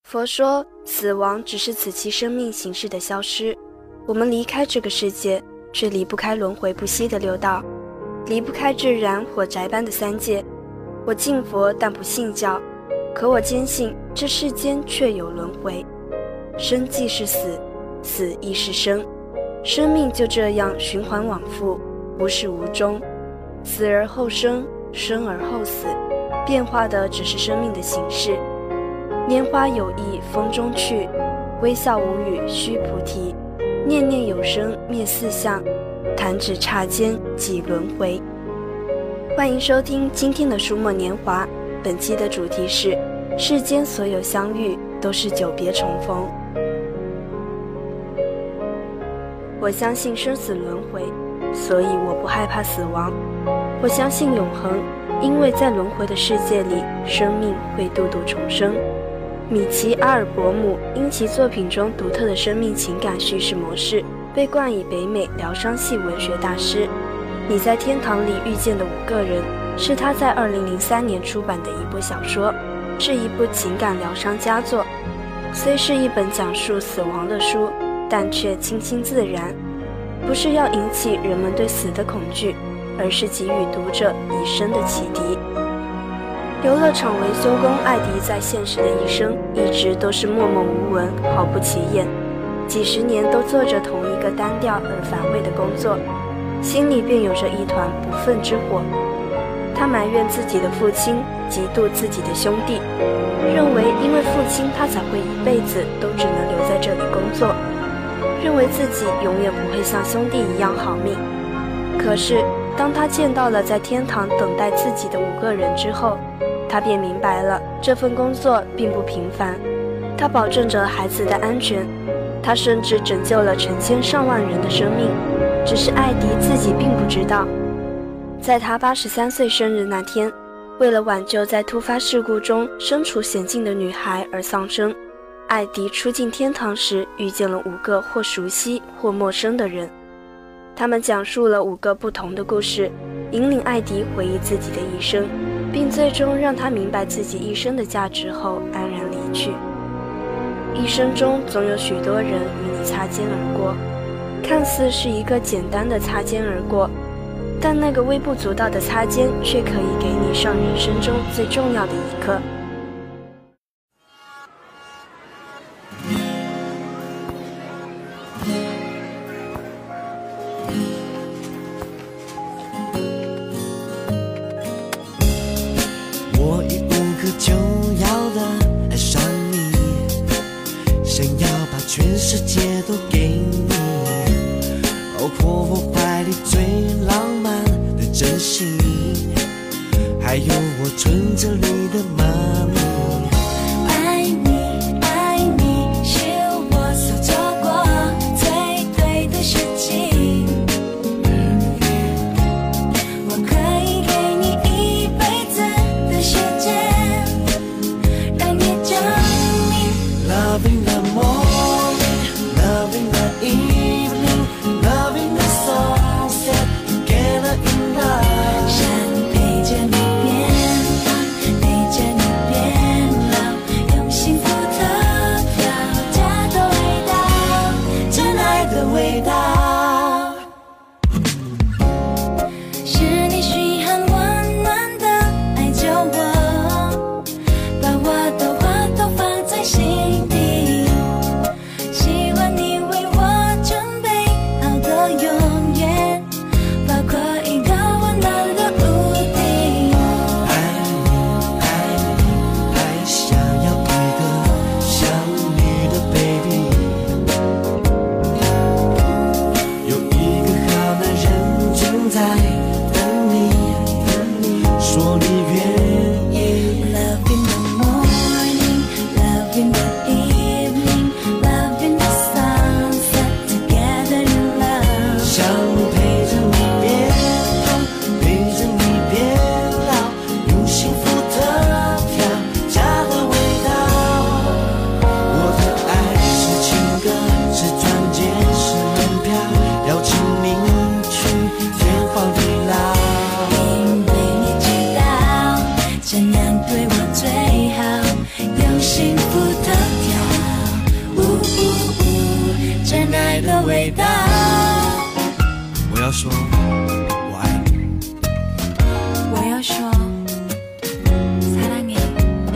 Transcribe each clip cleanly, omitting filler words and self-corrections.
佛说，死亡只是此期生命形式的消失。我们离开这个世界，却离不开轮回不息的六道，离不开至燃火宅般的三界。我敬佛，但不信教，可我坚信这世间确有轮回。生即是死，死亦是生，生命就这样循环往复，无始无终。死而后生，生而后死，变化的只是生命的形式。拈花有意风中去，微笑无语须菩提。念念有生灭四相，弹指刹间即轮回。欢迎收听今天的书墨年华，本期的主题是世间所有相遇都是久别重逢。我相信生死轮回，所以我不害怕死亡。我相信永恒，因为在轮回的世界里，生命会度度重生。米奇·阿尔伯姆因其作品中独特的生命情感叙事模式，被冠以北美疗伤系文学大师。你在天堂里遇见的5个人，是他在2003年出版的一部小说，是一部情感疗伤佳作。虽是一本讲述死亡的书，但却清新自然，不是要引起人们对死的恐惧，而是给予读者一生的启迪。游乐场维修工艾迪在现实的一生一直都是默默无闻，毫不起眼，几十年都做着同一个单调而乏味的工作，心里便有着一团不忿之火。他埋怨自己的父亲，嫉妒自己的兄弟，认为因为父亲他才会一辈子都只能留在这里工作，认为自己永远不会像兄弟一样好命。可是当他见到了在天堂等待自己的5个人之后，他便明白了这份工作并不平凡。他保证着孩子的安全，他甚至拯救了成千上万人的生命，只是艾迪自己并不知道。在他83岁生日那天，为了挽救在突发事故中身处险境的女孩而丧生，艾迪出进天堂时遇见了5个或熟悉或陌生的人，他们讲述了5个不同的故事，引领艾迪回忆自己的一生，并最终让他明白自己一生的价值后安然离去。一生中总有许多人与你擦肩而过，看似是一个简单的擦肩而过，但那个微不足道的擦肩却可以给你上人生中最重要的一课。 我已无可救药的爱上你，想要把全世界都给你，包括我怀里最浪漫的真心，还有我存折里的妈咪。 爱你爱你是我所做过最对的事情，我可以给你一辈子的时间，让你证明 Loving the morning, loving the evening, loving the sunset together in love。 想陪着你变老，陪着你变的味道。 我要说我爱你， 我要说사랑해，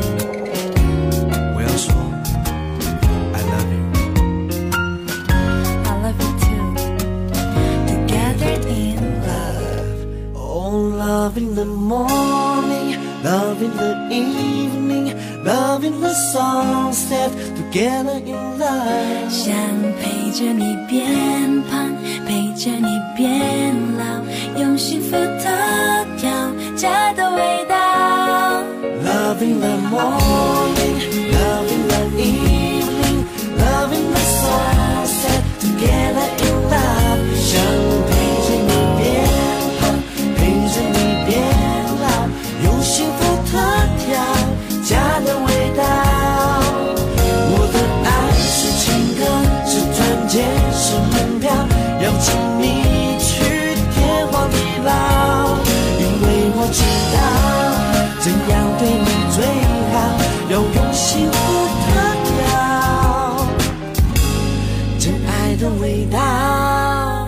我要说 I love you， I love you too. Together in love. Oh, love in the morning, love in the evening, love in the sunset, together in love. 想陪着你变胖，陪着你变老，用幸福投票家的味道。 Love in the morning, love in the evening, love in the sunset, together in love. 想陪着你变胖，陪着你变老，用幸福特调家的味道。我的爱是情歌，是团结，是门票，邀请你去天荒地老。因为我知道怎样对你最好，要用幸福特调真爱的味道。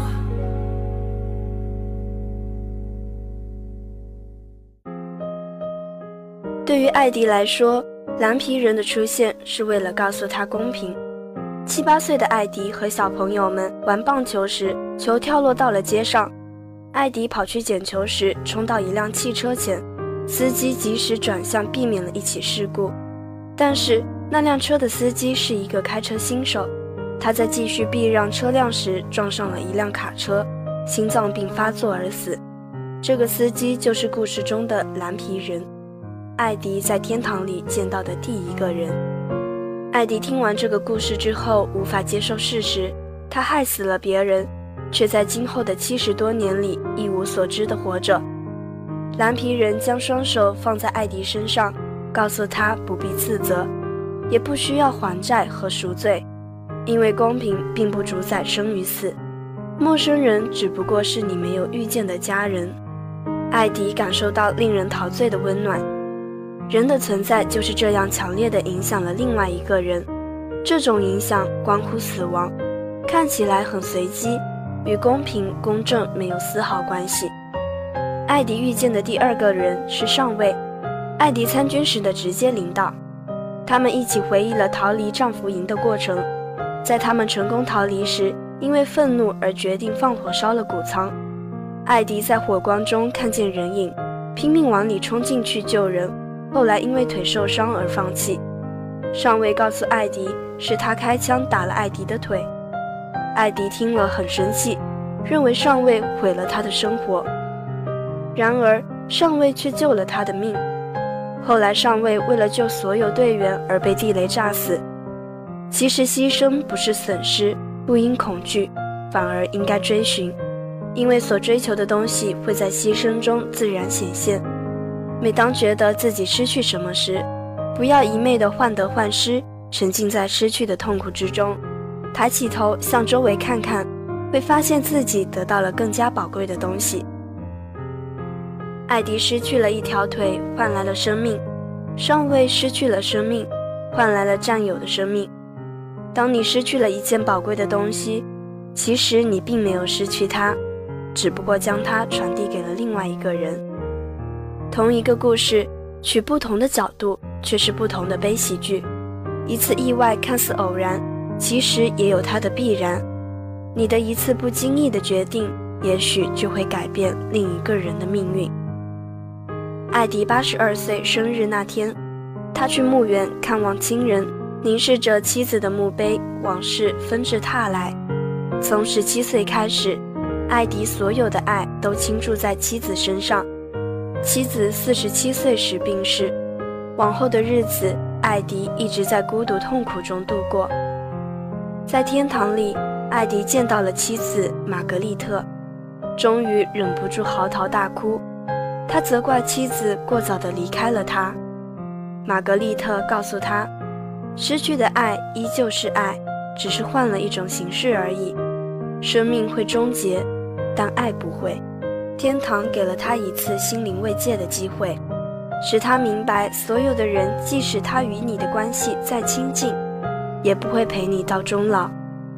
对于艾迪来说，蓝皮人的出现是为了告诉他公平。7、8岁的艾迪和小朋友们玩棒球时，球跳落到了街上。艾迪跑去捡球时，冲到一辆汽车前，司机及时转向，避免了一起事故。但是那辆车的司机是一个开车新手，他在继续避让车辆时撞上了一辆卡车，心脏病发作而死。这个司机就是故事中的蓝皮人，艾迪在天堂里见到的第一个人。艾迪听完这个故事之后，无法接受事实，他害死了别人，却在今后的70多年里一无所知地活着。蓝皮人将双手放在艾迪身上，告诉他不必自责，也不需要还债和赎罪，因为公平并不主宰生与死，陌生人只不过是你没有遇见的家人。艾迪感受到令人陶醉的温暖，人的存在就是这样强烈地影响了另外一个人，这种影响关乎死亡，看起来很随机，与公平公正没有丝毫关系。艾迪遇见的第二个人是上尉，艾迪参军时的直接领导。他们一起回忆了逃离战俘营的过程，在他们成功逃离时，因为愤怒而决定放火烧了谷仓。艾迪在火光中看见人影，拼命往里冲进去救人，后来因为腿受伤而放弃。上尉告诉艾迪，是他开枪打了艾迪的腿。艾迪听了很生气，认为上尉毁了他的生活。然而上尉却救了他的命。后来上尉为了救所有队员而被地雷炸死。其实牺牲不是损失，不应恐惧，反而应该追寻，因为所追求的东西会在牺牲中自然显现。每当觉得自己失去什么时，不要一昧地患得患失，沉浸在失去的痛苦之中，抬起头向周围看看，会发现自己得到了更加宝贵的东西。艾迪失去了一条腿，换来了生命；上尉失去了生命，换来了战友的生命。当你失去了一件宝贵的东西，其实你并没有失去它，只不过将它传递给了另外一个人。同一个故事，取不同的角度，却是不同的悲喜剧。一次意外看似偶然，其实也有它的必然。你的一次不经意的决定，也许就会改变另一个人的命运。艾迪82岁生日那天，他去墓园看望亲人，凝视着妻子的墓碑，往事纷至沓来。从17岁开始，艾迪所有的爱都倾注在妻子身上。妻子47岁时病逝，往后的日子，艾迪一直在孤独痛苦中度过。在天堂里，艾迪见到了妻子玛格丽特，终于忍不住嚎啕大哭。他责怪妻子过早地离开了他。玛格丽特告诉他，失去的爱依旧是爱，只是换了一种形式而已。生命会终结，但爱不会。天堂给了他一次心灵慰藉的机会，使他明白所有的人，即使他与你的关系再亲近，也不会陪你到终老。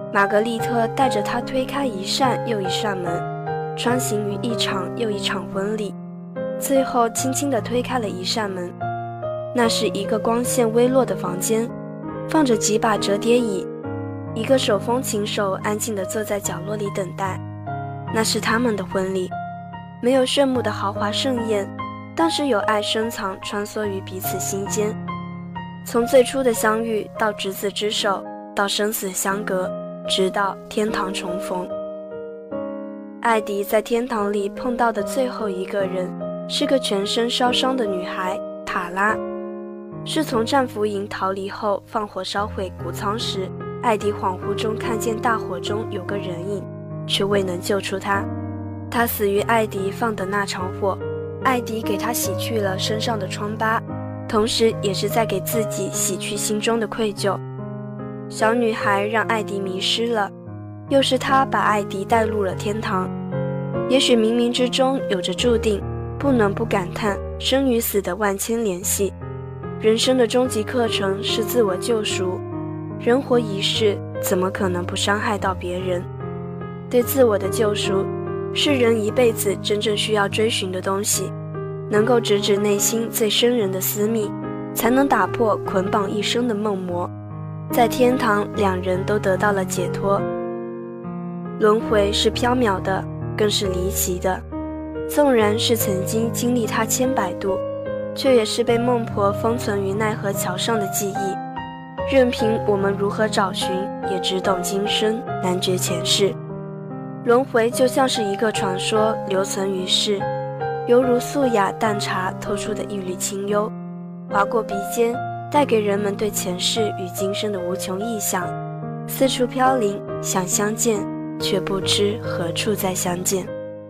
玛格丽特带着他推开一扇又一扇门，穿行于一场又一场婚礼，最后轻轻地推开了一扇门。那是一个光线微弱的房间，放着几把折叠椅，一个手风琴手安静地坐在角落里等待。那是他们的婚礼，没有炫目的豪华盛宴，但是有爱深藏穿梭于彼此心间。从最初的相遇到执子之手，到生死相隔，直到天堂重逢。艾迪在天堂里碰到的最后一个人，是个全身烧伤的女孩塔拉。是从战俘营逃离后放火烧毁谷仓时，艾迪恍惚中看见大火中有个人影，却未能救出他。他死于艾迪放的那场火，艾迪给他洗去了身上的疮疤，同时也是在给自己洗去心中的愧疚。小女孩让艾迪迷失了，又是她把艾迪带入了天堂。也许冥冥之中有着注定，不能不感叹生与死的万千联系。人生的终极课程是自我救赎，人活一世，怎么可能不伤害到别人？对自我的救赎，是人一辈子真正需要追寻的东西，能够直指内心最深人的私密，才能打破捆绑一生的梦魔。在天堂，两人都得到了解脱。轮回是缥缈的，更是离奇的。纵然是曾经经历它千百度，却也是被孟婆封存于奈何桥上的记忆。任凭我们如何找寻，也只懂今生，难觉前世。轮回就像是一个传说，留存于世，犹如素雅淡茶透出的一缕清幽，划过鼻尖，带给人们对前世与今生的无穷臆想。四处飘零，想相见，却不知何处再相见。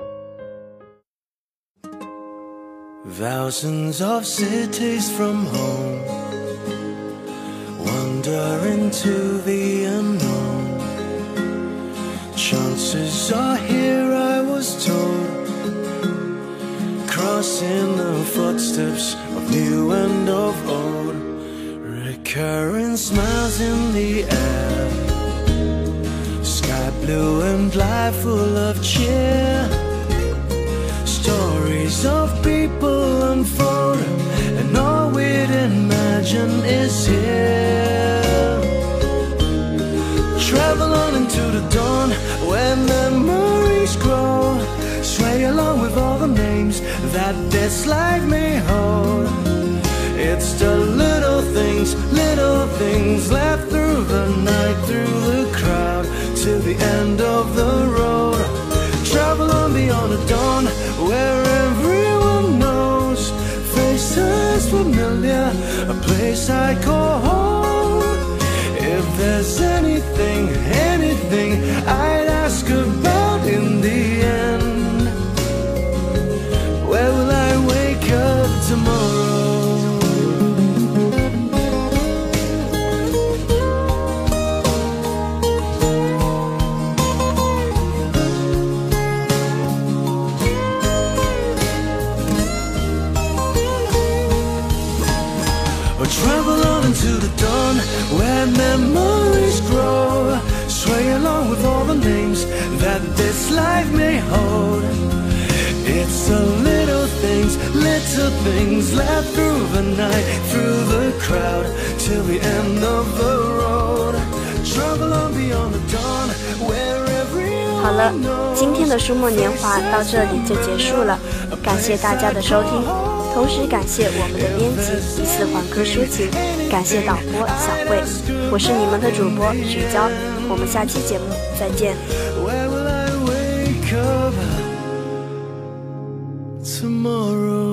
Thousands of cities from home, wander into the unknown. Chances are here, I was told, crossing the footsteps of new and of old. Recurrent smiles in the air, sky blue and life full of cheer. Stories of people unfold, and all we'd imagine is here. Travel on into the dawn, where memories grow. Sway along with all the names that this life may hold. It's the little things left through the night, through the crowd, till the end of the road. Travel on beyond the dawn, where everyone knows. Faces familiar, a place I call home. If there's anything I'd ask about in the end, where will I wake up tomorrow? Travel on into the dawn, where memories grow. Sway along with all the names that this life may hold. It's the little things left through the night, through the crowd, till the end of the road. Travel on beyond the dawn, where everyone knows. 好了，今天的书墨年华到这里就结束了，感谢大家的收听。同时感谢我们的编辑一四环科抒情，感谢导播小慧，我是你们的主播许娇，我们下期节目再见。 Where will I wake up tomorrow?